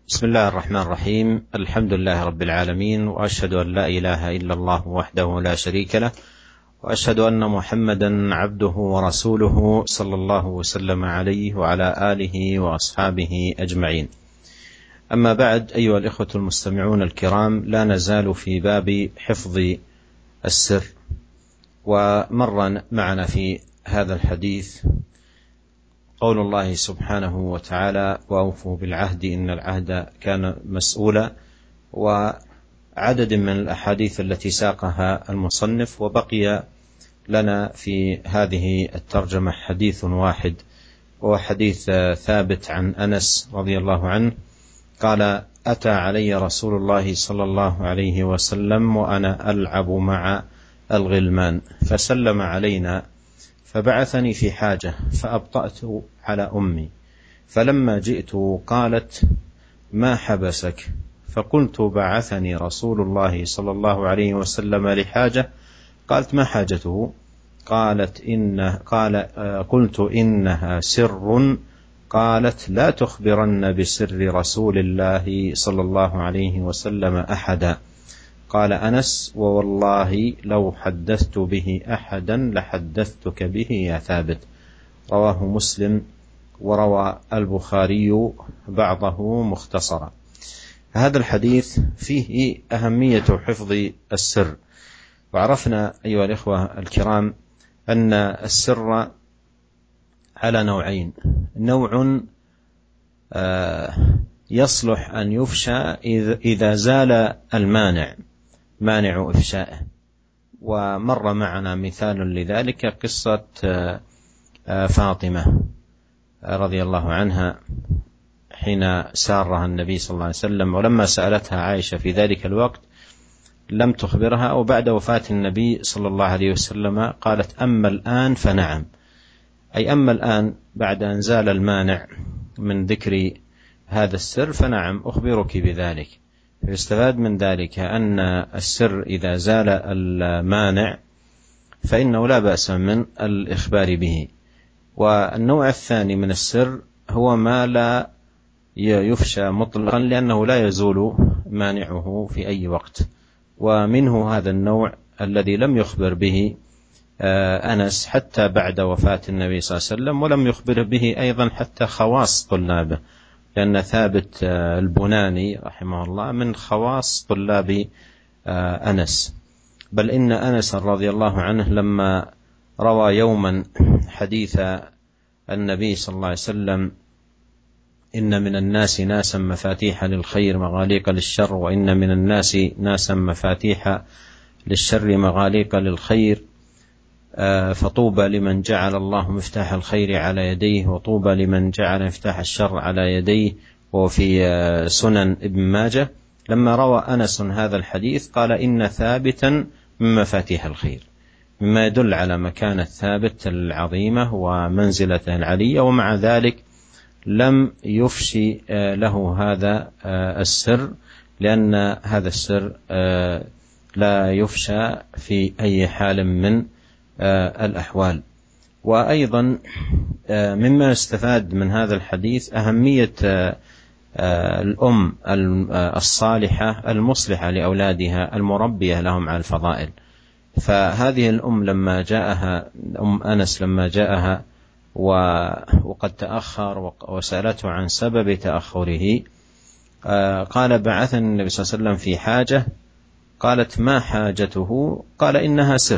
بسم الله الرحمن الرحيم. الحمد لله رب العالمين، وأشهد أن لا إله إلا الله وحده لا شريك له، وأشهد أن محمدا عبده ورسوله صلى الله وسلم عليه وعلى آله وأصحابه أجمعين. أما بعد، أيها الإخوة المستمعون الكرام، لا نزال في باب حفظ السر، ومر معنا في هذا الحديث قول الله سبحانه وتعالى: وأوفوا بالعهد إن العهد كان مسؤولا، وعدد من الأحاديث التي ساقها المصنف. وبقي لنا في هذه الترجمة حديث واحد، وهو حديث ثابت عن أنس رضي الله عنه قال: أتى علي رسول الله صلى الله عليه وسلم وأنا ألعب مع الغلمان فسلم علينا، فبعثني في حاجة فأبطأت على أمي، فلما جئت قالت: ما حبسك؟ فقلت: بعثني رسول الله صلى الله عليه وسلم لحاجة. قالت: ما حاجته؟ قلت: إنها سر. قالت: لا تخبرن بسر رسول الله صلى الله عليه وسلم أحدا. قال أنس: ووالله لو حدثت به أحدا لحدثتك به يا ثابت. رواه مسلم، وروى البخاري بعضه مختصرا. هذا الحديث فيه أهمية حفظ السر. وعرفنا أيها الإخوة الكرام أن السر على نوعين: نوع يصلح أن يفشى إذا زال مانع إفشائه، ومر معنا مثال لذلك قصة فاطمة رضي الله عنها حين سارها النبي صلى الله عليه وسلم، ولما سألتها عائشة في ذلك الوقت لم تخبرها، أو بعد وفاة النبي صلى الله عليه وسلم قالت: أما الآن فنعم، أي أما الآن بعد أن زال المانع من ذكر هذا السر فنعم أخبرك بذلك. يستفاد من ذلك أن السر إذا زال المانع فإنه لا بأس من الإخبار به. والنوع الثاني من السر هو ما لا يفشى مطلقا، لأنه لا يزول مانعه في أي وقت. ومنه هذا النوع الذي لم يخبر به أنس حتى بعد وفاة النبي صلى الله عليه وسلم، ولم يخبر به أيضا حتى خواص طلابه، لأن ثابت البناني رحمه الله من خواص طلاب أنس. بل إن أنس رضي الله عنه لما روى يوما حديث النبي صلى الله عليه وسلم: إن من الناس ناسا مفاتيح للخير مغاليق للشر، وإن من الناس ناسا مفاتيح للشر مغاليق للخير، فطوبى لمن جعل الله مفتاح الخير على يديه، وطوبى لمن جعل مفتاح الشر على يديه. وفي سنن ابن ماجه لما روى أنس هذا الحديث قال: إن ثابتا من مفاتيح الخير، مما يدل على مكانة ثابت العظيمة ومنزلته العلية، ومع ذلك لم يفشي له هذا السر، لأن هذا السر لا يفشى في أي حال من الأحوال. وأيضا مما يستفاد من هذا الحديث أهمية الأم الصالحة المصلحة لأولادها المربية لهم على الفضائل. فهذه الأم لما جاءها أم أنس لما جاءها وقد تأخر وسألته عن سبب تأخره، قال: بعثني النبي صلى الله عليه وسلم في حاجة. قالت: ما حاجته؟ قال: إنها سر.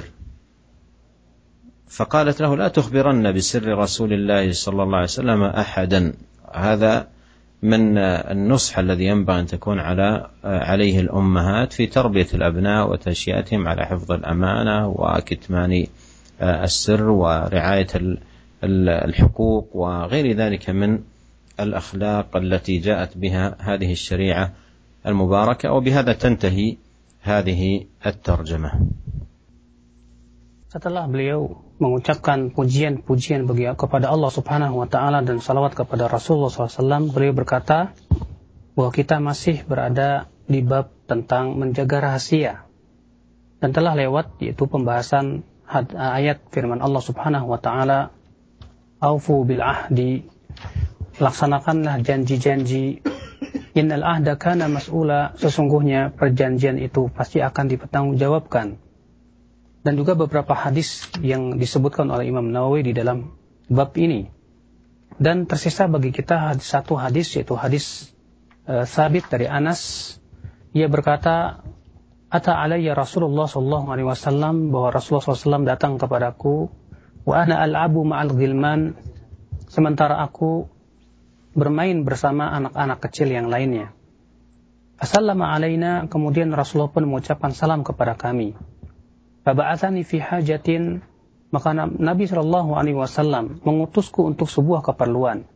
فقالت له: لا تخبرن بسر رسول الله صلى الله عليه وسلم أحدا. هذا من النصح الذي ينبغي أن تكون عليه الأمهات في تربية الأبناء وتنشئتهم على حفظ الأمانة وكتمان السر ورعاية الحقوق وغير ذلك من الأخلاق التي جاءت بها هذه الشريعة المباركة. وبهذا تنتهي هذه الترجمة. Setelah beliau mengucapkan pujian-pujian kepada Allah Subhanahu wa Ta'ala dan salawat kepada Rasulullah SAW, beliau berkata bahwa kita masih berada di bab tentang menjaga rahasia, dan telah lewat yaitu pembahasan ayat firman Allah Subhanahu wa Ta'ala: "Aufu bil ahdi", laksanakanlah janji-janji Innal ahda kana mas'ula, sesungguhnya perjanjian itu pasti akan dipertanggungjawabkan. Dan juga beberapa hadis yang disebutkan oleh Imam Nawawi di dalam bab ini. Dan tersisa bagi kita satu hadis, yaitu hadis Sabit dari Anas. Ia berkata, Ata alayya Rasulullah SAW, bahwa Rasulullah SAW datang kepadaku, wa ana al'abu ma'al ghilman, sementara aku bermain bersama anak-anak kecil yang lainnya. Assalamu alaina, kemudian Rasulullah pun mengucapkan salam kepada kami. Faba'athani fi hajatin, maka Nabi SAW mengutusku untuk sebuah keperluan.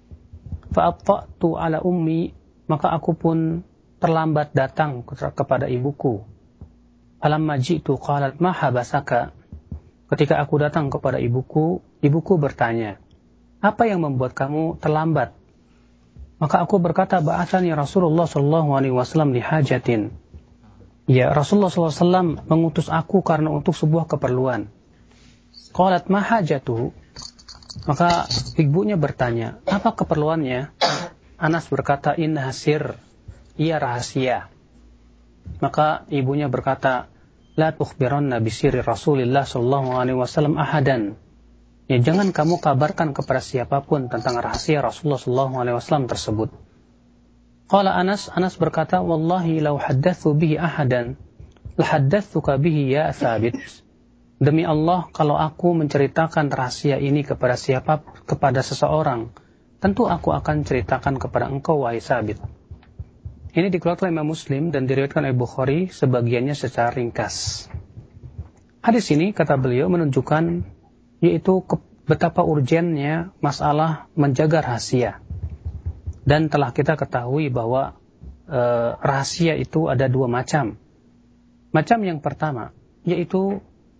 Fa'atta'tu ala ummi, maka aku pun terlambat datang kepada ibuku. Falamma ji'tu qalat ma habasaka, ketika aku datang kepada ibuku bertanya, apa yang membuat kamu terlambat? Maka aku berkata, ba'athani Rasulullah SAW li hajatin. Ya, Rasulullah SAW mengutus aku karena untuk sebuah keperluan. Qalat ma hajatuhu, maka ibunya bertanya, apa keperluannya? Anas berkata, inna sir, ia rahasia. Maka ibunya berkata, la tukhbiranna bisirri Rasulillah SAW ahadan. Ya, jangan kamu kabarkan kepada siapapun tentang rahasia Rasulullah SAW tersebut. Qala Anas berkata, wallahi law haddatsu bihi ahadan lahaddatsuka bihi ya Thabit. Demi Allah, kalau aku menceritakan rahasia ini kepada seseorang, tentu aku akan ceritakan kepada engkau, wahai Thabit. Ini dikeluarkan oleh Imam Muslim dan diriwayatkan oleh Bukhari, sebagiannya secara ringkas. Hadis ini, kata beliau, menunjukkan yaitu betapa urgennya masalah menjaga rahasia. Dan telah kita ketahui bahwa rahasia itu ada dua macam. Macam yang pertama, yaitu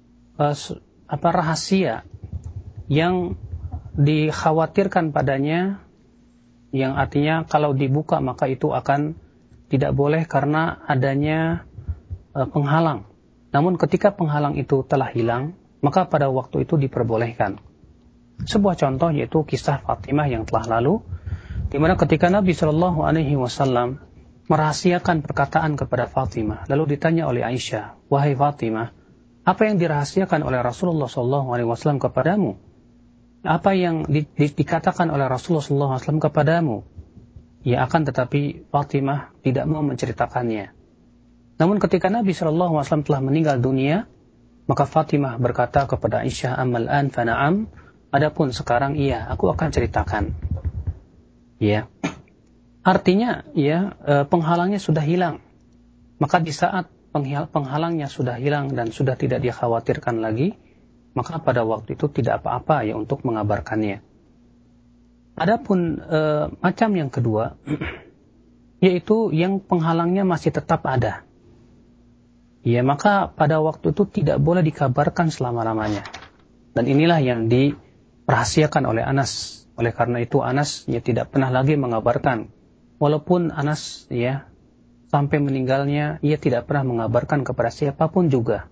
rahasia yang dikhawatirkan padanya, yang artinya kalau dibuka maka itu akan tidak boleh karena adanya penghalang. Namun ketika penghalang itu telah hilang, maka pada waktu itu diperbolehkan. Sebuah contoh yaitu kisah Fatimah yang telah lalu, di mana ketika Nabi SAW merahasiakan perkataan kepada Fatimah, lalu ditanya oleh Aisyah, wahai Fatimah, apa yang dirahasiakan oleh Rasulullah SAW kepadamu? Apa yang dikatakan oleh Rasulullah SAW kepadamu? Ya, akan tetapi Fatimah tidak mau menceritakannya. Namun ketika Nabi SAW telah meninggal dunia, maka Fatimah berkata kepada Aisyah, amal an fana'am, adapun sekarang iya, aku akan ceritakan. Ya, artinya ya penghalangnya sudah hilang. Maka di saat penghalangnya sudah hilang dan sudah tidak dikhawatirkan lagi, maka pada waktu itu tidak apa-apa ya untuk mengabarkannya. Adapun macam yang kedua, yaitu yang penghalangnya masih tetap ada. Ya, maka pada waktu itu tidak boleh dikabarkan selama-lamanya. Dan inilah yang dirahasiakan oleh Anas. Oleh karena itu Anas ya tidak pernah lagi mengabarkan. Walaupun Anas ya sampai meninggalnya ia tidak pernah mengabarkan kepada siapapun juga.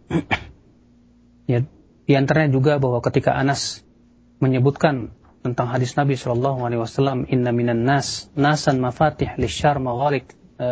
Ya, di antaranya juga bahwa ketika Anas menyebutkan tentang hadis Nabi SAW, inna minan nas nasan mafatih lisyar maghalik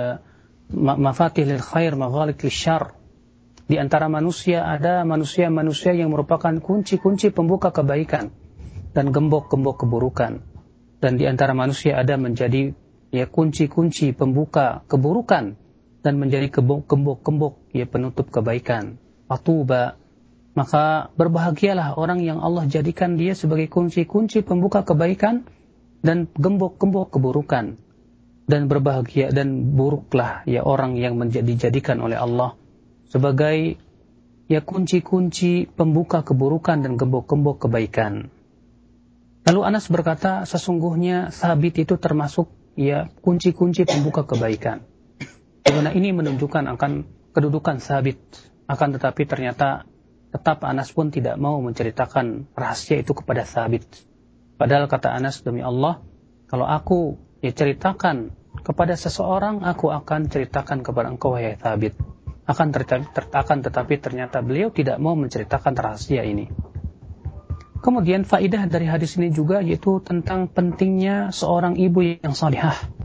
mafatih lil khair maghalik lisyar. Di antara manusia ada manusia-manusia yang merupakan kunci-kunci pembuka kebaikan dan gembok-gembok keburukan. Dan di antara manusia ada menjadi ya kunci-kunci pembuka keburukan dan menjadi gembok-gembok ya penutup kebaikan. Fatuba, maka berbahagialah orang yang Allah jadikan dia sebagai kunci-kunci pembuka kebaikan dan gembok-gembok keburukan. Dan berbahagia dan buruklah ya orang yang dijadikan oleh Allah sebagai ya kunci-kunci pembuka keburukan dan gembok-gembok kebaikan. Lalu Anas berkata, sesungguhnya Sabit itu termasuk ya kunci-kunci pembuka kebaikan. Karena ini menunjukkan akan kedudukan Sabit. Akan tetapi ternyata tetap Anas pun tidak mau menceritakan rahasia itu kepada Sabit. Padahal kata Anas, demi Allah, kalau aku ya ceritakan kepada seseorang, aku akan ceritakan kepada engkau, wahai Sabit. Akan tetapi ternyata beliau tidak mau menceritakan rahasia ini. Kemudian faidah dari hadis ini juga yaitu tentang pentingnya seorang ibu yang salihah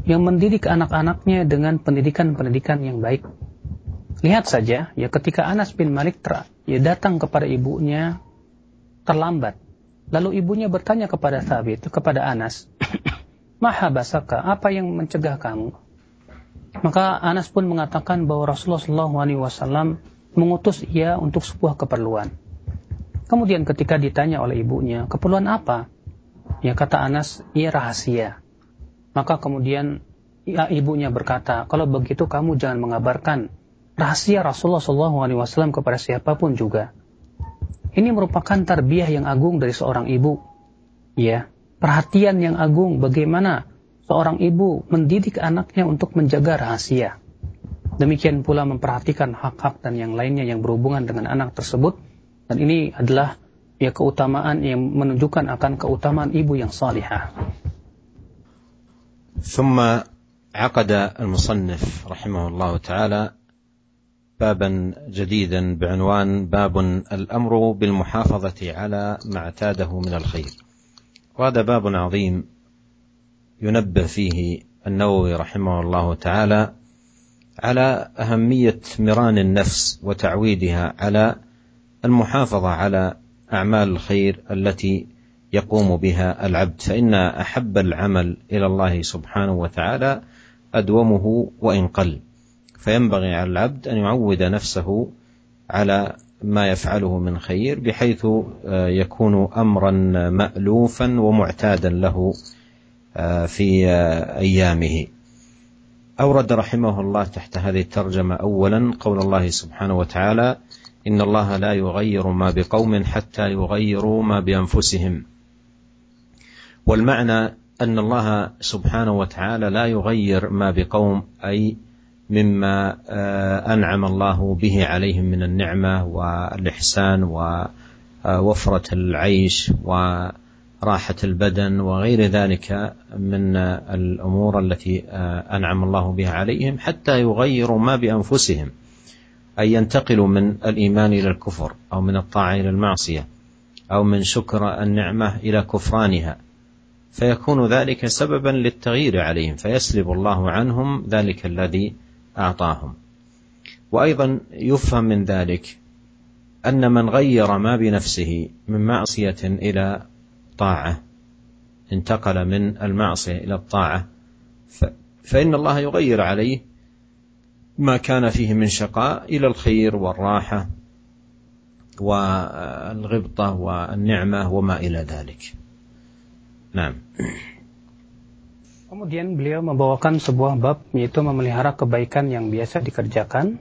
yang mendidik anak-anaknya dengan pendidikan-pendidikan yang baik. Lihat saja, ya ketika Anas bin Malik datang kepada ibunya terlambat. Lalu ibunya bertanya kepada Anas, "Mahabasaka, apa yang mencegah kamu?" Maka Anas pun mengatakan bahwa Rasulullah SAW mengutus ia untuk sebuah keperluan. Kemudian ketika ditanya oleh ibunya, "Keperluan apa?" Ya kata Anas, "Ia rahasia." Maka kemudian ibunya berkata, "Kalau begitu kamu jangan mengabarkan rahasia Rasulullah SAW kepada siapapun juga." Ini merupakan tarbiyah yang agung dari seorang ibu. Ya, perhatian yang agung bagaimana seorang ibu mendidik anaknya untuk menjaga rahasia. Demikian pula memperhatikan hak-hak dan yang lainnya yang berhubungan dengan anak tersebut. Dan ini adalah ya keutamaan yang menunjukkan akan keutamaan ibu yang salihah. ثم عقد المصنف رحمه الله تعالى بابا جديدا بعنوان باب الأمر بالمحافظة على ما اعتاده من الخير. وهذا باب عظيم ينبه فيه النووي رحمه الله تعالى على أهمية مران النفس وتعويدها على المحافظة على أعمال الخير التي يقوم بها العبد، فإن أحب العمل إلى الله سبحانه وتعالى أدومه وإن قل، فينبغي على العبد أن يعود نفسه على ما يفعله من خير بحيث يكون أمرا مألوفا ومعتادا له في أيامه. أورد رحمه الله تحت هذه الترجمة أولا قول الله سبحانه وتعالى: إن الله لا يغير ما بقوم حتى يغيروا ما بأنفسهم. والمعنى أن الله سبحانه وتعالى لا يغير ما بقوم، أي مما أنعم الله به عليهم من النعمة والإحسان ووفرة العيش وراحة البدن وغير ذلك من الأمور التي أنعم الله بها عليهم، حتى يغيروا ما بأنفسهم، أي ينتقلوا من الإيمان إلى الكفر، أو من الطاعة إلى المعصية، أو من شكر النعمة إلى كفرانها، فيكون ذلك سببا للتغيير عليهم، فيسلب الله عنهم ذلك الذي أعطاهم. وأيضا يفهم من ذلك أن من غير ما بنفسه من معصية إلى طاعة، انتقل من المعصية إلى الطاعة، فإن الله يغير عليه ما كان فيه من شقاء إلى الخير والراحة والغبطة والنعمة وما إلى ذلك. نعم. Kemudian beliau membawakan sebuah bab, yaitu memelihara kebaikan yang biasa dikerjakan.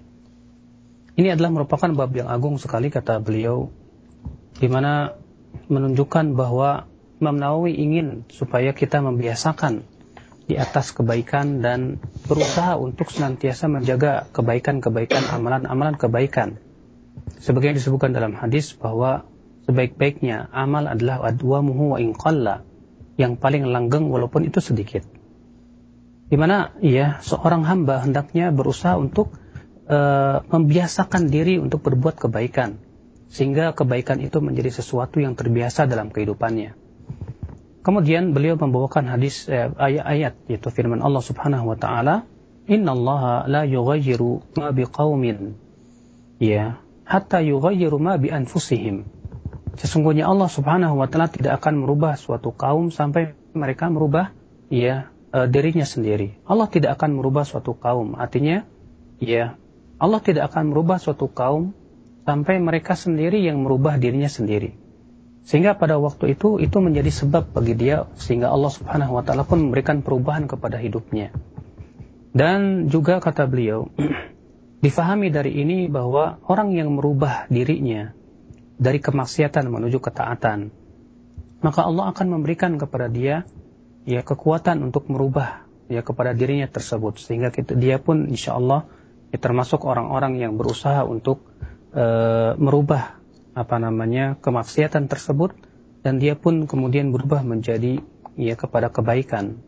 Ini adalah merupakan bab yang agung sekali, kata beliau, di mana menunjukkan bahwa Imam Nawawi ingin supaya kita membiasakan di atas kebaikan dan berusaha untuk senantiasa menjaga kebaikan-kebaikan, amalan-amalan kebaikan. Sebagaimana disebutkan dalam hadis bahwa sebaik-baiknya amal adalah adwamuhu wa in qalla, yang paling langgeng walaupun itu sedikit. Di mana ya seorang hamba hendaknya berusaha untuk membiasakan diri untuk berbuat kebaikan, sehingga kebaikan itu menjadi sesuatu yang terbiasa dalam kehidupannya. Kemudian beliau membawakan hadis ayat-ayat, yaitu firman Allah Subhanahu wa taala, "Innallaha la yughayyiru ma biqaumin ya hatta yughayyiru ma bi anfusihim." Sesungguhnya Allah Subhanahu wa taala tidak akan merubah suatu kaum sampai mereka merubah dirinya sendiri. Allah tidak akan merubah suatu kaum. Artinya Allah tidak akan merubah suatu kaum sampai mereka sendiri yang merubah dirinya sendiri. Sehingga pada waktu itu menjadi sebab bagi dia, sehingga Allah Subhanahu wa taala pun memberikan perubahan kepada hidupnya. Dan juga kata beliau, difahami dari ini bahwa orang yang merubah dirinya dari kemaksiatan menuju ketaatan, maka Allah akan memberikan kepada dia kekuatan untuk merubah kepada dirinya tersebut, sehingga dia pun insya Allah termasuk orang-orang yang berusaha untuk merubah kemaksiatan tersebut, dan dia pun kemudian berubah menjadi kepada kebaikan.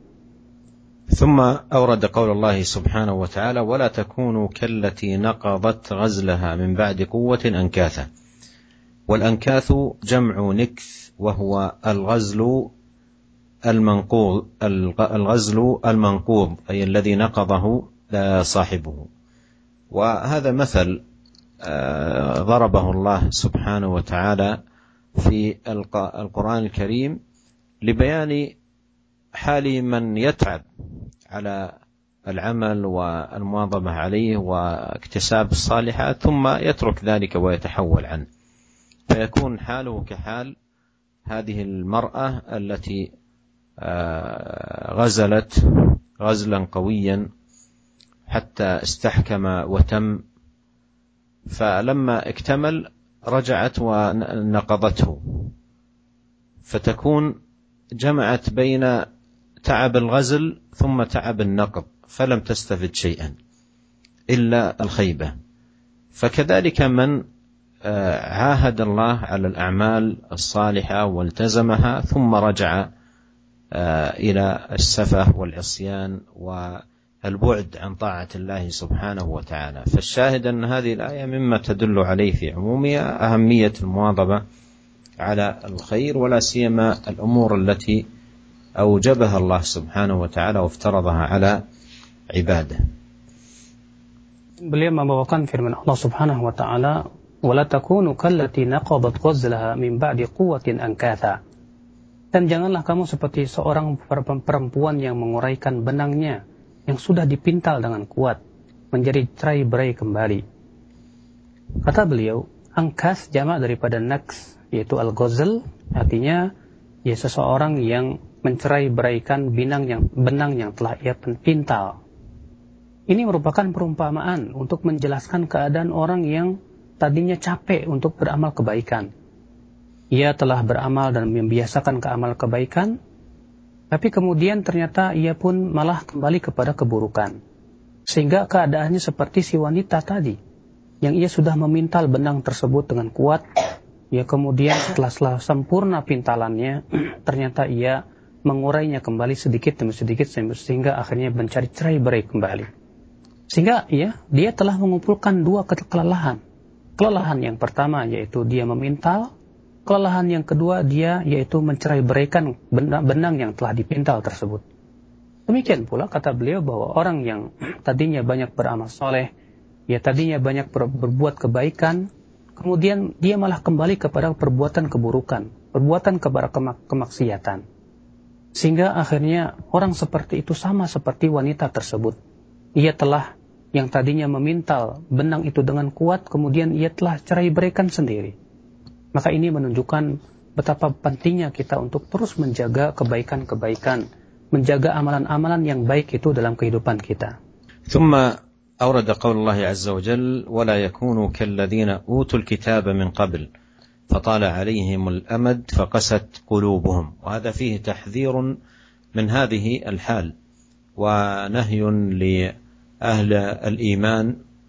ثم أورد قول الله سبحانه وتعالى: ولا تكونوا كالتي نقضت غزلها من بعد قوة أنكاثا. والأنكاث جمع نكث، وهو الغزل الغزل المنقوض أي الذي نقضه صاحبه. وهذا مثل ضربه الله سبحانه وتعالى في القرآن الكريم لبيان حال من يتعب على العمل والمواظبة عليه واكتساب الصالحات ثم يترك ذلك ويتحول عنه، فيكون حاله كحال هذه المرأة التي غزلت غزلا قويا حتى استحكم وتم، فلما اكتمل رجعت ونقضته، فتكون جمعت بين تعب الغزل ثم تعب النقض، فلم تستفد شيئا إلا الخيبة. فكذلك من عاهد الله على الأعمال الصالحة والتزمها ثم رجع إلى السفه والعصيان والبعد عن طاعة الله سبحانه وتعالى. فالشاهد أن هذه الآية مما تدل عليه في عمومها أهمية المواظبة على الخير، ولا سيما الأمور التي أوجبها الله سبحانه وتعالى وافترضها على عباده. Beliau membawakan firman Allah Subhanahu wa taala, "Wala takunu kallati naqadat ghazlaha min ba'di quwwatin ankatha." Dan janganlah kamu seperti seorang perempuan yang menguraikan benangnya yang sudah dipintal dengan kuat menjadi cerai-berai kembali. Kata beliau, angkas jamak daripada naks, yaitu al-ghazl, artinya ya seseorang yang mencerai-beraikan benang yang telah ia pintal. Ini merupakan perumpamaan untuk menjelaskan keadaan orang yang tadinya capek untuk beramal kebaikan. Ia telah beramal dan membiasakan ke amal kebaikan, tapi kemudian ternyata ia pun malah kembali kepada keburukan. Sehingga keadaannya seperti si wanita tadi, yang ia sudah memintal benang tersebut dengan kuat, ya kemudian setelah sempurna pintalannya, ternyata ia mengurainya kembali sedikit demi sedikit sehingga akhirnya mencari cerai-berai kembali. Sehingga ya, dia telah mengumpulkan dua kelelahan. Kelelahan yang pertama yaitu dia memintal, kelelahan yang kedua dia yaitu mencerai-beraikan benang yang telah dipintal tersebut. Demikian pula kata beliau bahwa orang yang tadinya banyak beramal soleh, ya tadinya banyak berbuat kebaikan, kemudian dia malah kembali kepada perbuatan keburukan, perbuatan kepada kemaksiatan. Sehingga akhirnya orang seperti itu sama seperti wanita tersebut. Ia telah yang tadinya memintal benang itu dengan kuat, kemudian ia telah cerai-beraikan sendiri. Maka ini menunjukkan betapa pentingnya kita untuk terus menjaga kebaikan-kebaikan, menjaga amalan-amalan yang baik itu dalam kehidupan kita. ثم أورد قول الله عز وجل ولا يكونوا كالذين أوتوا الكتاب من قبل فطال عليهم الأمد فقست قلوبهم. وهذا فيه تحذير من هذه الحال ونهي لأهل الإيمان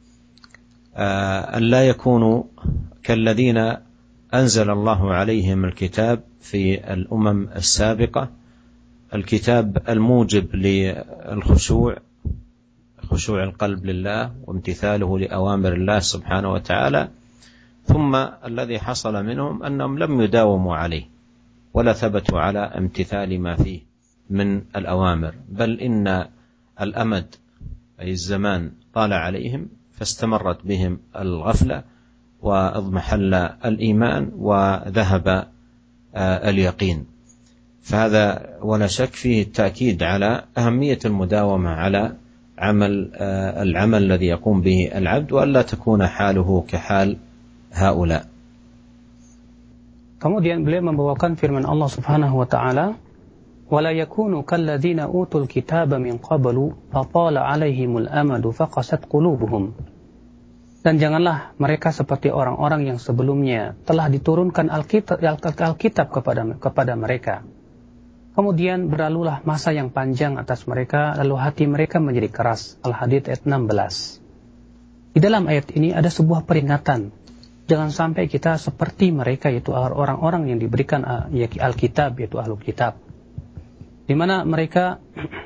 أن لا يكونوا كالذين أنزل الله عليهم الكتاب في الأمم السابقة، الكتاب الموجب للخشوع، خشوع القلب لله وامتثاله لأوامر الله سبحانه وتعالى، ثم الذي حصل منهم أنهم لم يداوموا عليه ولا ثبتوا على امتثال ما فيه من الأوامر، بل إن الأمد أي الزمان طال عليهم فاستمرت بهم الغفلة واضمحل الإيمان وذهب اليقين. فهذا ولا شك فيه التأكيد على أهمية المداومة على العمل الذي يقوم به العبد، وألا تكون حاله كحال هؤلاء. Kemudian beliau membawakan firman Allah Subhanahu wa taala, "Wala yakunu kalladzina utul kitaba min qablu fatala 'alaihimul amadu faqasat qulubuhum." Dan janganlah mereka seperti orang-orang yang sebelumnya telah diturunkan Alkitab kepada mereka. Kemudian berlalulah masa yang panjang atas mereka, lalu hati mereka menjadi keras. Al-Hadid ayat 16. Di dalam ayat ini ada sebuah peringatan. Jangan sampai kita seperti mereka, yaitu orang-orang yang diberikan Alkitab, yaitu Ahlul Kitab. Di mana mereka,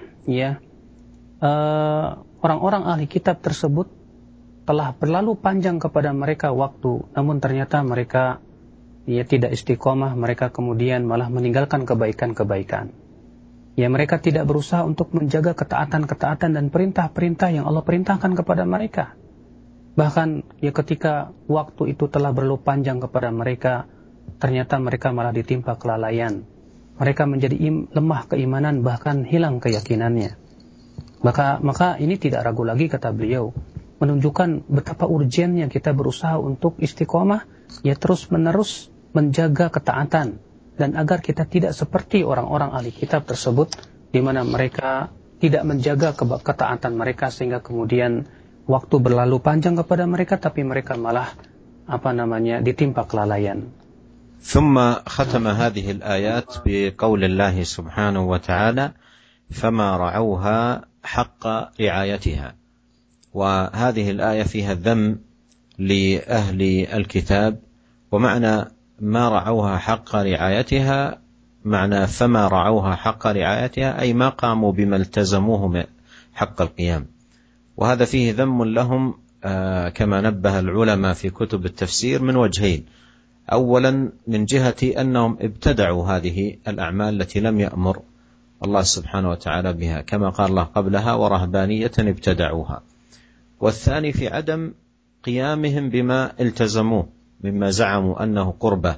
orang-orang ahli kitab tersebut telah berlalu panjang kepada mereka waktu, namun ternyata mereka tidak istiqomah, mereka kemudian malah meninggalkan kebaikan-kebaikan. Ya, mereka tidak berusaha untuk menjaga ketaatan-ketaatan dan perintah-perintah yang Allah perintahkan kepada mereka. Bahkan ya ketika waktu itu telah berlalu panjang kepada mereka, ternyata mereka malah ditimpa kelalaian. Mereka menjadi lemah keimanan, bahkan hilang keyakinannya. Maka ini tidak ragu lagi, kata beliau, menunjukkan betapa urgennya kita berusaha untuk istiqomah, ya terus-menerus menjaga ketaatan, dan agar kita tidak seperti orang-orang ahli kitab tersebut, di mana mereka tidak menjaga ketaatan mereka, sehingga kemudian waktu berlalu panjang kepada mereka, tapi mereka malah ditimpa kelalaian. ثم ختم هذه الآيات بقول الله سبحانه وتعالى فما رعوها حق رعايتها. وهذه الآية فيها ذم لأهل الكتاب، ومعنى ما رعوها حق رعايتها معنى فما رعوها حق رعايتها أي ما قاموا بما التزموه حق القيام. وهذا فيه ذم لهم كما نبه العلماء في كتب التفسير من وجهين. أولا من جهة أنهم ابتدعوا هذه الأعمال التي لم يأمر الله سبحانه وتعالى بها، كما قال الله قبلها ورهبانية ابتدعوها. والثاني في عدم قيامهم بما التزموه مما زعموا أنه قربة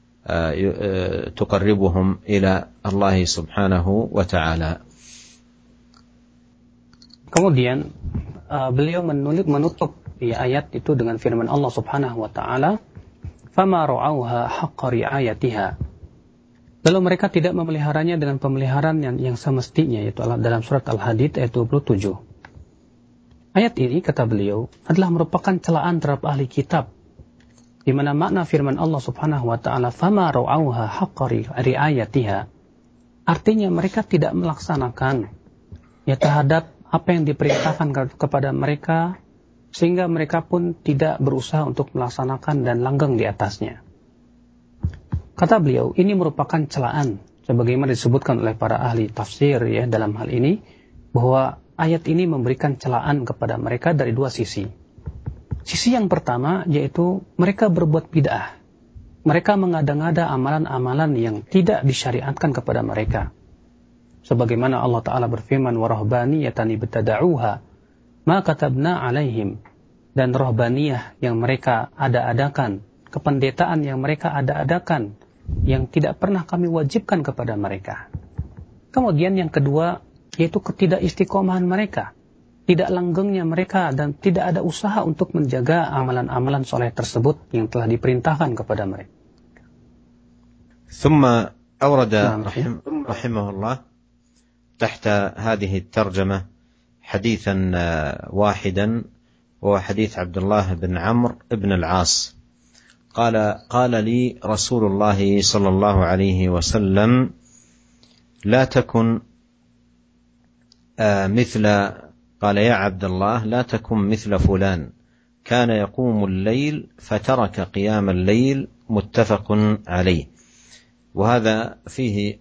تقربهم إلى الله سبحانه وتعالى. Kemudian beliau menutup ayat itu dengan firman Allah Subhanahu wa taala, "Fama ra'auha haqqa ri'ayatiha." Lalu mereka tidak memeliharanya dengan pemeliharaan yang semestinya, yaitu dalam surat Al-Hadid ayat 27. Ayat ini, kata beliau, adalah merupakan celaan terhadap ahli kitab, di mana makna firman Allah Subhanahu wa taala "Fama ra'auha haqqa ri'ayatiha" artinya mereka tidak melaksanakan terhadap apa yang diperintahkan kepada mereka, sehingga mereka pun tidak berusaha untuk melaksanakan dan langgeng di atasnya. Kata beliau, ini merupakan celaan, sebagaimana disebutkan oleh para ahli tafsir dalam hal ini, bahwa ayat ini memberikan celaan kepada mereka dari dua sisi. Sisi yang pertama yaitu mereka berbuat bid'ah. Mereka mengada-ngada amalan-amalan yang tidak disyariatkan kepada mereka. Sebagaimana Allah Ta'ala berfirman, وَرَهْبَانِيَةً ابْتَدَعُوهَا مَا كَتَبْنَا عَلَيْهِمْ, dan rohbaniyah yang mereka ada-adakan, kependetaan yang mereka ada-adakan, yang tidak pernah kami wajibkan kepada mereka. Kemudian yang kedua, yaitu ketidakistiqomahan mereka, tidak langgengnya mereka, dan tidak ada usaha untuk menjaga amalan-amalan soleh tersebut yang telah diperintahkan kepada mereka. ثم أورد رحمه الله تحت هذه الترجمة حديثا واحدا، وهو حديث عبد الله بن عمرو بن العاص قال لي رسول الله صلى الله عليه وسلم لا تكن قال يا عبد الله لا تكن مثل فلان كان يقوم الليل فترك قيام الليل متفق عليه. وهذا فيه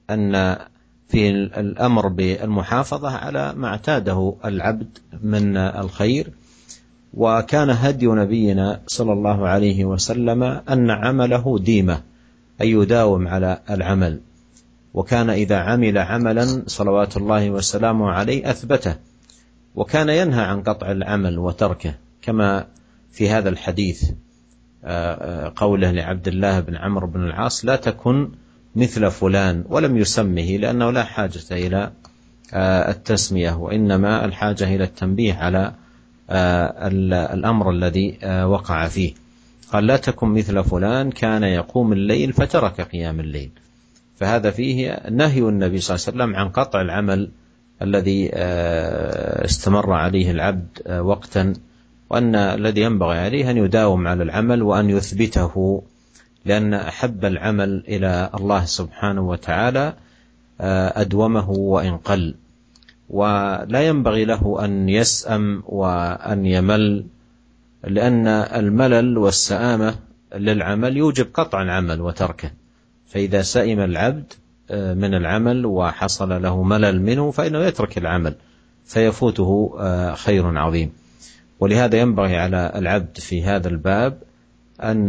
الأمر بالمحافظة على ما اعتاده العبد من الخير. وكان هدي نبينا صلى الله عليه وسلم أن عمله ديمة، أي يداوم على العمل، وكان إذا عمل عملا صلوات الله وسلامه عليه أثبته، وكان ينهى عن قطع العمل وتركه، كما في هذا الحديث قوله لعبد الله بن عمرو بن العاص لا تكن مثل فلان، ولم يسمه لأنه لا حاجة إلى التسمية، وإنما الحاجة إلى التنبيه على الأمر الذي وقع فيه. قال لا تكن مثل فلان كان يقوم الليل فترك قيام الليل، فهذا فيه نهي النبي صلى الله عليه وسلم عن قطع العمل الذي استمر عليه العبد وقتا، وأن الذي ينبغي عليه أن يداوم على العمل وأن يثبته، لأن أحب العمل إلى الله سبحانه وتعالى أدومه وإن قل، ولا ينبغي له أن يسأم وأن يمل، لأن الملل والسآمة للعمل يوجب قطع العمل وتركه. فإذا سئم العبد من العمل وحصل له ملل منه فإنه يترك العمل فيفوته خير عظيم. ولهذا ينبغي على العبد في هذا الباب أن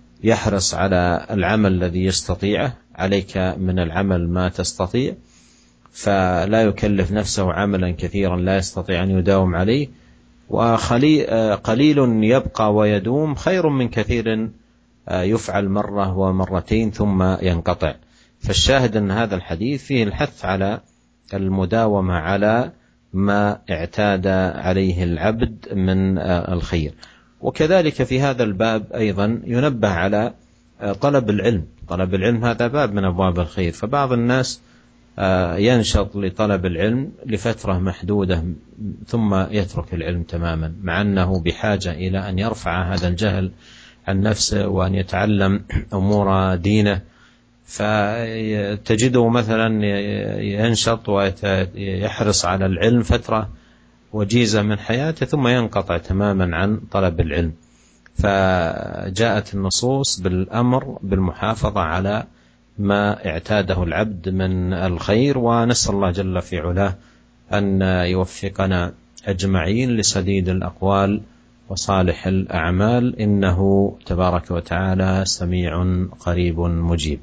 يحرص على العمل الذي يستطيعه، عليك من العمل ما تستطيع، فلا يكلف نفسه عملا كثيرا لا يستطيع أن يداوم عليه، وقليل يبقى ويدوم خير من كثير يفعل مرة ومرتين ثم ينقطع. فالشاهد أن هذا الحديث فيه الحث على المداومة على ما اعتاد عليه العبد من الخير. وكذلك في هذا الباب أيضا ينبه على طلب العلم. طلب العلم هذا باب من أبواب الخير، فبعض الناس ينشط لطلب العلم لفترة محدودة ثم يترك العلم تماما، مع أنه بحاجة إلى أن يرفع هذا الجهل عن نفسه وأن يتعلم أمور دينه. فتجده مثلا ينشط ويحرص على العلم فترة وجيزة من حياته ثم ينقطع تماما عن طلب العلم. فجاءت النصوص بالأمر بالمحافظة على ما اعتاده العبد من الخير، ونسأل الله جل في علاه أن يوفقنا أجمعين لسديد الأقوال وصالح الأعمال، إنه تبارك وتعالى سميع قريب مجيب.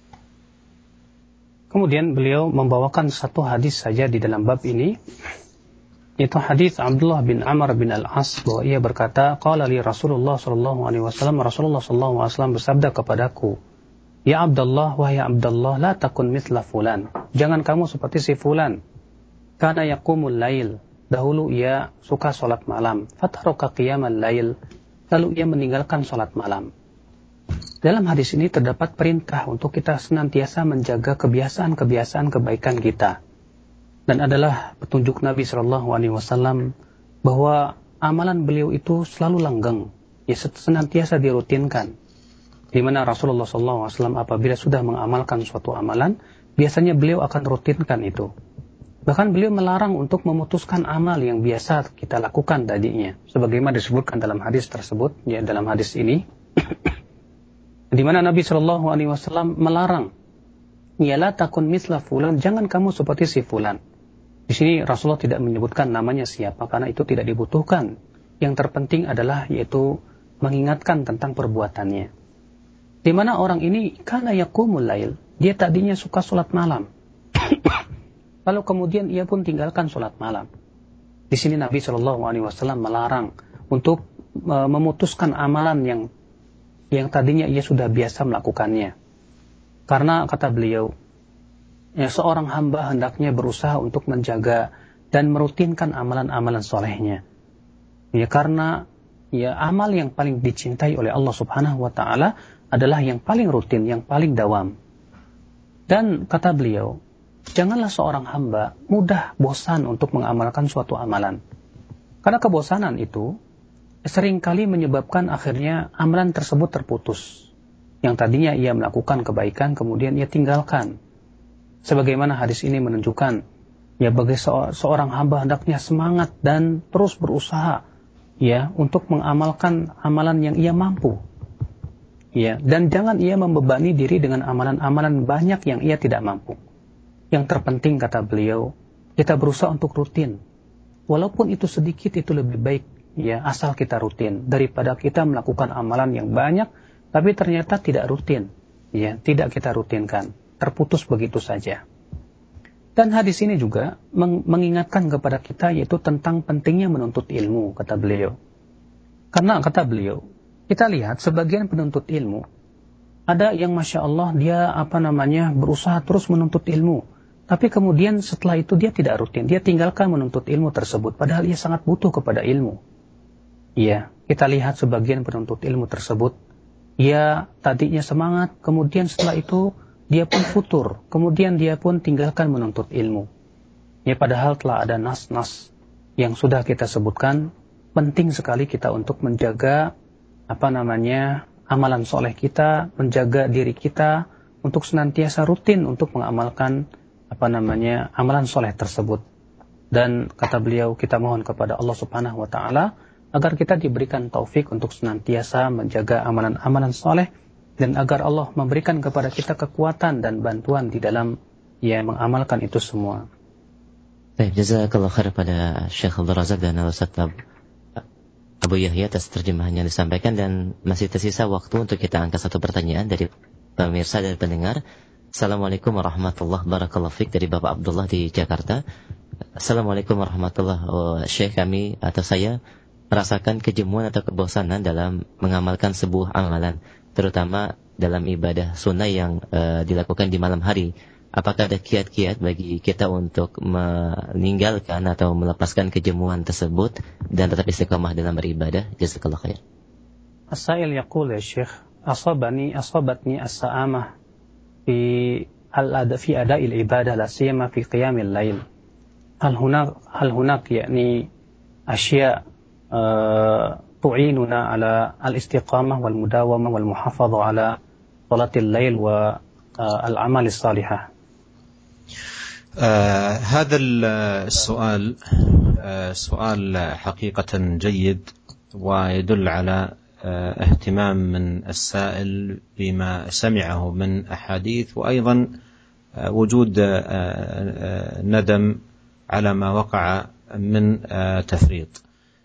Kemudian beliau membawakan satu hadis saja di dalam bab ini, yaitu hadis Abdullah bin Amr bin Al-As, bahwa ia berkata, qala li Rasulullah sallallahu alaihi wasallam, Rasulullah sallallahu alaihi wasallam bersabda kepadaku, ya Abdullah, wahai Abdullah, la takun mithla fulan, jangan kamu seperti si fulan, kana yaqumul lail, dahulu ia suka salat malam, fataraka qiyamal lail, lalu ia meninggalkan salat malam. Dalam hadis ini terdapat perintah untuk kita senantiasa menjaga kebiasaan-kebiasaan kebaikan kita. Dan adalah petunjuk Nabi SAW bahwa amalan beliau itu selalu langgeng, ya senantiasa dirutinkan. Di mana Rasulullah SAW apabila sudah mengamalkan suatu amalan, biasanya beliau akan rutinkan itu. Bahkan beliau melarang untuk memutuskan amal yang biasa kita lakukan tadinya. Sebagaimana disebutkan dalam hadis tersebut, ya dalam hadis ini, di mana Nabi SAW melarang, ya la takun misla fulan, jangan kamu seperti si fulan. Di sini Rasulullah tidak menyebutkan namanya siapa, karena itu tidak dibutuhkan. Yang terpenting adalah yaitu mengingatkan tentang perbuatannya. Di mana orang ini kana yaqumul lail, dia tadinya suka sholat malam. Lalu kemudian ia pun tinggalkan sholat malam. Di sini Nabi SAW melarang untuk memutuskan amalan yang tadinya ia sudah biasa melakukannya. Karena kata beliau, ya, seorang hamba hendaknya berusaha untuk menjaga dan merutinkan amalan-amalan solehnya. Ya, karena ya amal yang paling dicintai oleh Allah Subhanahu wa Ta'ala adalah yang paling rutin, yang paling dawam. Dan kata beliau, janganlah seorang hamba mudah bosan untuk mengamalkan suatu amalan. Karena kebosanan itu seringkali menyebabkan akhirnya amalan tersebut terputus. Yang tadinya ia melakukan kebaikan, kemudian ia tinggalkan. Sebagaimana hadis ini menunjukkan, ya bagi seorang hamba hendaknya semangat dan terus berusaha, ya untuk mengamalkan amalan yang ia mampu. Ya, dan jangan ia membebani diri dengan amalan-amalan banyak yang ia tidak mampu. Yang terpenting kata beliau, kita berusaha untuk rutin. Walaupun itu sedikit, itu lebih baik. Ya, asal kita rutin daripada kita melakukan amalan yang banyak tapi ternyata tidak rutin, ya, tidak kita rutinkan, terputus begitu saja. Dan hadis ini juga mengingatkan kepada kita yaitu tentang pentingnya menuntut ilmu, kata beliau. Karena kata beliau, kita lihat sebagian penuntut ilmu ada yang Masya Allah dia berusaha terus menuntut ilmu, tapi kemudian setelah itu dia tidak rutin, dia tinggalkan menuntut ilmu tersebut padahal ia sangat butuh kepada ilmu. Iya, kita lihat sebagian penuntut ilmu tersebut, ia tadinya semangat, kemudian setelah itu dia pun futur, kemudian dia pun tinggalkan menuntut ilmu. Ya, padahal telah ada nas-nas yang sudah kita sebutkan, penting sekali kita untuk menjaga amalan soleh kita, menjaga diri kita untuk senantiasa rutin untuk mengamalkan amalan soleh tersebut. Dan kata beliau, kita mohon kepada Allah Subhanahu wa Ta'ala agar kita diberikan taufik untuk senantiasa menjaga amalan-amalan soleh, dan agar Allah memberikan kepada kita kekuatan dan bantuan di dalam mengamalkan itu semua. Baik, jazakallah khair pada Syekh Abdul Razak dan Ustaz Abu Yahya atas terjemahan yang disampaikan, dan masih tersisa waktu untuk kita angkat satu pertanyaan dari pemirsa dan pendengar. Assalamualaikum warahmatullahi wabarakatuh. Dari Bapak Abdullah di Jakarta. Assalamualaikum warahmatullahi wabarakatuh. Syekh, kami atau saya merasakan kejemuan atau kebosanan dalam mengamalkan sebuah amalan, terutama dalam ibadah sunnah yang dilakukan di malam hari. Apakah ada kiat-kiat bagi kita untuk meninggalkan atau melepaskan kejemuan tersebut dan tetap istiqamah dalam beribadah? Jazakallah khair. As-sa'il yaqul ya Syekh, asabatni as-sa'amah في أداء العبادة لا سيما في قيام الليل. هل هناك يعني أشياء تعيننا على الاستقامة والمداومة والمحافظة على صلاة الليل والأعمال الصالحة؟ هذا السؤال سؤال حقيقة جيد، ويدل على اهتمام من السائل بما سمعه من أحاديث، وأيضا وجود ندم على ما وقع من تفريط.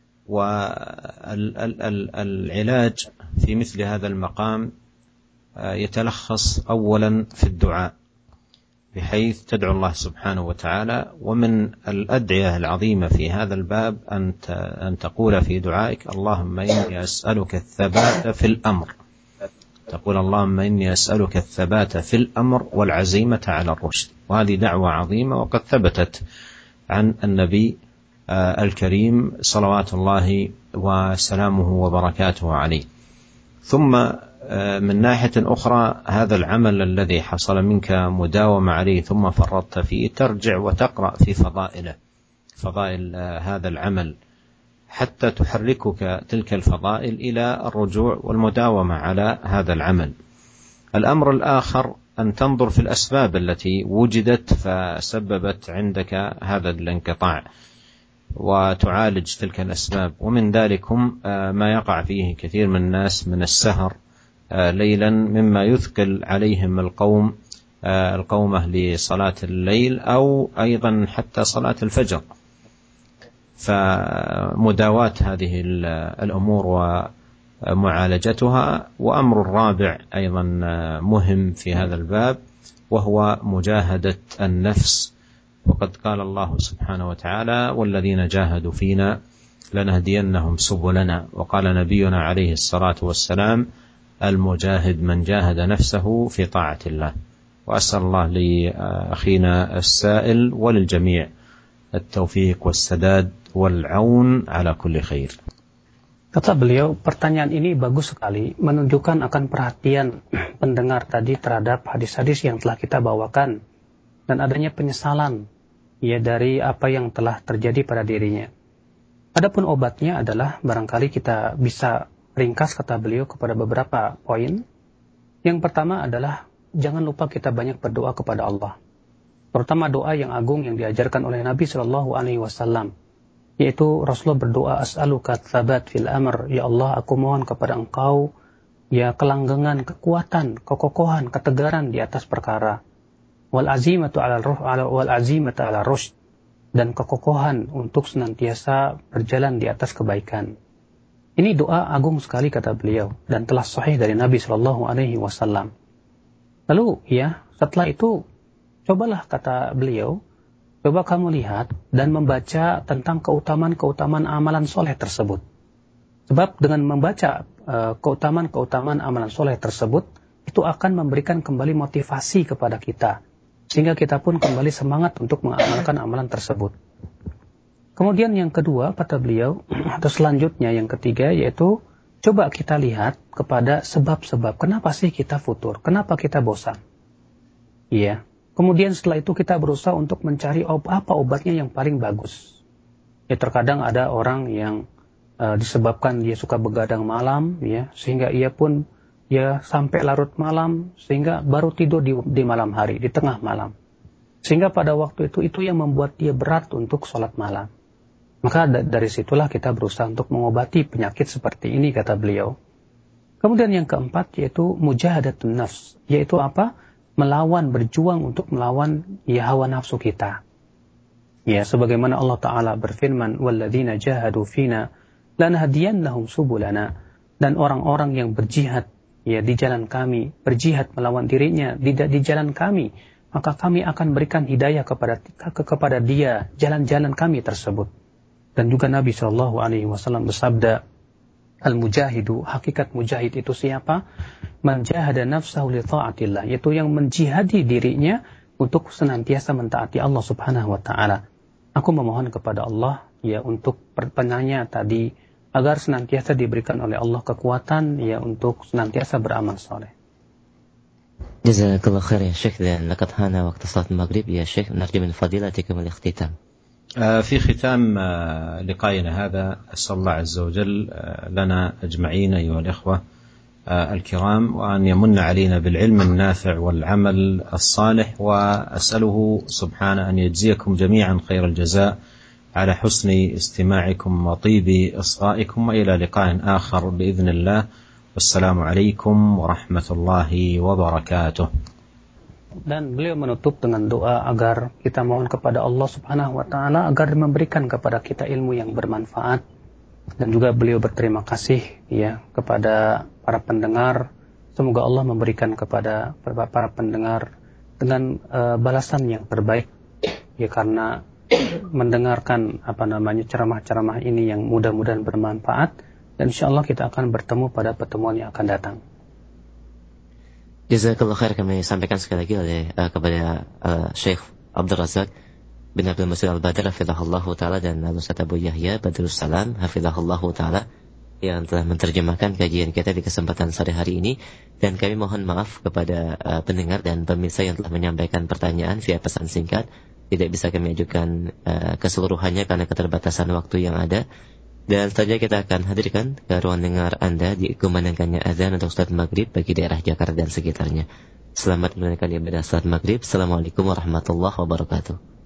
والعلاج في مثل هذا المقام يتلخص أولا في الدعاء، بحيث تدعو الله سبحانه وتعالى. ومن الأدعية العظيمة في هذا الباب أن تقول في دعائك: اللهم إني أسألك الثبات في الأمر. تقول: اللهم إني أسألك الثبات في الأمر والعزيمة على الرشد. وهذه دعوة عظيمة، وقد ثبتت عن النبي الكريم صلوات الله وسلامه وبركاته عليه. ثم من ناحية أخرى، هذا العمل الذي حصل منك مداومة عليه ثم فرطت فيه، ترجع وتقرأ في فضائل هذا العمل حتى تحركك تلك الفضائل إلى الرجوع والمداومة على هذا العمل. الأمر الآخر أن تنظر في الأسباب التي وجدت فسببت عندك هذا الانقطاع، وتعالج تلك الأسباب. ومن ذلك ما يقع فيه كثير من الناس من السهر ليلا، مما يثقل عليهم القومة لصلاة الليل، أو أيضا حتى صلاة الفجر. فمداواة هذه الأمور ومعالجتها. وأمر الرابع أيضا مهم في هذا الباب، وهو مجاهدة النفس. وقد قال الله سبحانه وتعالى: والذين جاهدوا فينا لنهدينهم سبلنا. وقال نبينا عليه الصلاة والسلام: المجاهد من جاهد نفسه في طاعة الله. وأسأل الله لأخينا السائل وللجميع التوفيق والسداد والعون على كل خير. Kata beliau, pertanyaan ini bagus sekali, menunjukkan akan perhatian pendengar tadi terhadap hadis-hadis yang telah kita bawakan dan adanya penyesalan dari apa yang telah terjadi pada dirinya. Adapun obatnya adalah, barangkali kita bisa ringkas kata beliau kepada beberapa poin. Yang pertama adalah jangan lupa kita banyak berdoa kepada Allah, terutama doa yang agung yang diajarkan oleh Nabi SAW, yaitu Rasulullah berdoa: as'aluka tsabat fil amr, ya Allah, aku mohon kepada engkau kelanggengan, kekuatan, kekokohan, ketegaran di atas perkara, wal azimatu ala rushd, dan kekokohan untuk senantiasa berjalan di atas kebaikan. Ini doa agung sekali kata beliau, dan telah sahih dari Nabi SAW. Lalu setelah itu, cobalah kata beliau, coba kamu lihat dan membaca tentang keutamaan-keutamaan amalan soleh tersebut. Sebab dengan membaca keutamaan-keutamaan amalan soleh tersebut, itu akan memberikan kembali motivasi kepada kita, sehingga kita pun kembali semangat untuk mengamalkan amalan tersebut. Kemudian yang kedua, kata beliau, atau selanjutnya yang ketiga, yaitu coba kita lihat kepada sebab-sebab. Kenapa sih kita futur? Kenapa kita bosan? Kemudian setelah itu kita berusaha untuk mencari apa obatnya yang paling bagus. Terkadang ada orang yang disebabkan dia suka begadang malam, sehingga ia pun sampai larut malam, sehingga baru tidur di malam hari, di tengah malam. Sehingga pada waktu itu yang membuat dia berat untuk sholat malam. Maka dari situlah kita berusaha untuk mengobati penyakit seperti ini, kata beliau. Kemudian yang keempat yaitu mujahadatun nafs, yaitu apa? Berjuang untuk melawan hawa nafsu kita. Sebagaimana Allah Ta'ala berfirman, وَالَّذِينَ جَاهَدُوا فِينَا لَنَهْدِيَنَّهُمْ سُبُلَنَا, dan orang-orang yang berjihad ya di jalan kami, berjihad melawan dirinya di jalan kami, maka kami akan berikan hidayah kepada dia jalan-jalan kami tersebut. Dan juga Nabi SAW bersabda, al-mujahidu, hakikat mujahid itu siapa? Man jahada nafsahu li ta'atillah, yaitu yang menjihadi dirinya untuk senantiasa mentaati Allah Subhanahu wa taala. Aku memohon kepada Allah ya untuk penanya tadi agar senantiasa diberikan oleh Allah kekuatan ya untuk senantiasa beramal saleh. Jazakallah khair ya Syekh, dan laqad hana waqtu salat maghrib ya Syekh, narju min fadilatikum al-ikhtitam. في ختام لقائنا هذا أسأل الله عز وجل لنا أجمعين أيها الإخوة الكرام وأن يمن علينا بالعلم النافع والعمل الصالح، وأسأله سبحانه أن يجزيكم جميعا خير الجزاء على حسن استماعكم وطيب إصغائكم، وإلى لقاء آخر بإذن الله، والسلام عليكم ورحمة الله وبركاته. Dan beliau menutup dengan doa agar kita mohon kepada Allah Subhanahu wa taala agar memberikan kepada kita ilmu yang bermanfaat, dan juga beliau berterima kasih ya kepada para pendengar. Semoga Allah memberikan kepada para pendengar dengan balasan yang terbaik ya, karena mendengarkan ceramah-ceramah ini yang mudah-mudahan bermanfaat, dan insyaallah kita akan bertemu pada pertemuan yang akan datang. Jazakallah khair kami sampaikan sekali lagi kepada Syekh Abdul Razak bin Abdul Muhsin Al-Badr hafizahullah taala dan Ustaz Abu Yahya Badrus Salam hafizahullah taala yang telah menerjemahkan kajian kita di kesempatan sore hari ini. Dan kami mohon maaf kepada pendengar dan pemirsa yang telah menyampaikan pertanyaan via pesan singkat. Tidak bisa kami ajukan keseluruhannya karena keterbatasan waktu yang ada. Dan selanjutnya kita akan hadirkan ke ruang dengar Anda di kumandangkannya azan untuk salat maghrib bagi daerah Jakarta dan sekitarnya. Selamat menunaikan ibadah salat maghrib. Assalamualaikum warahmatullahi wabarakatuh.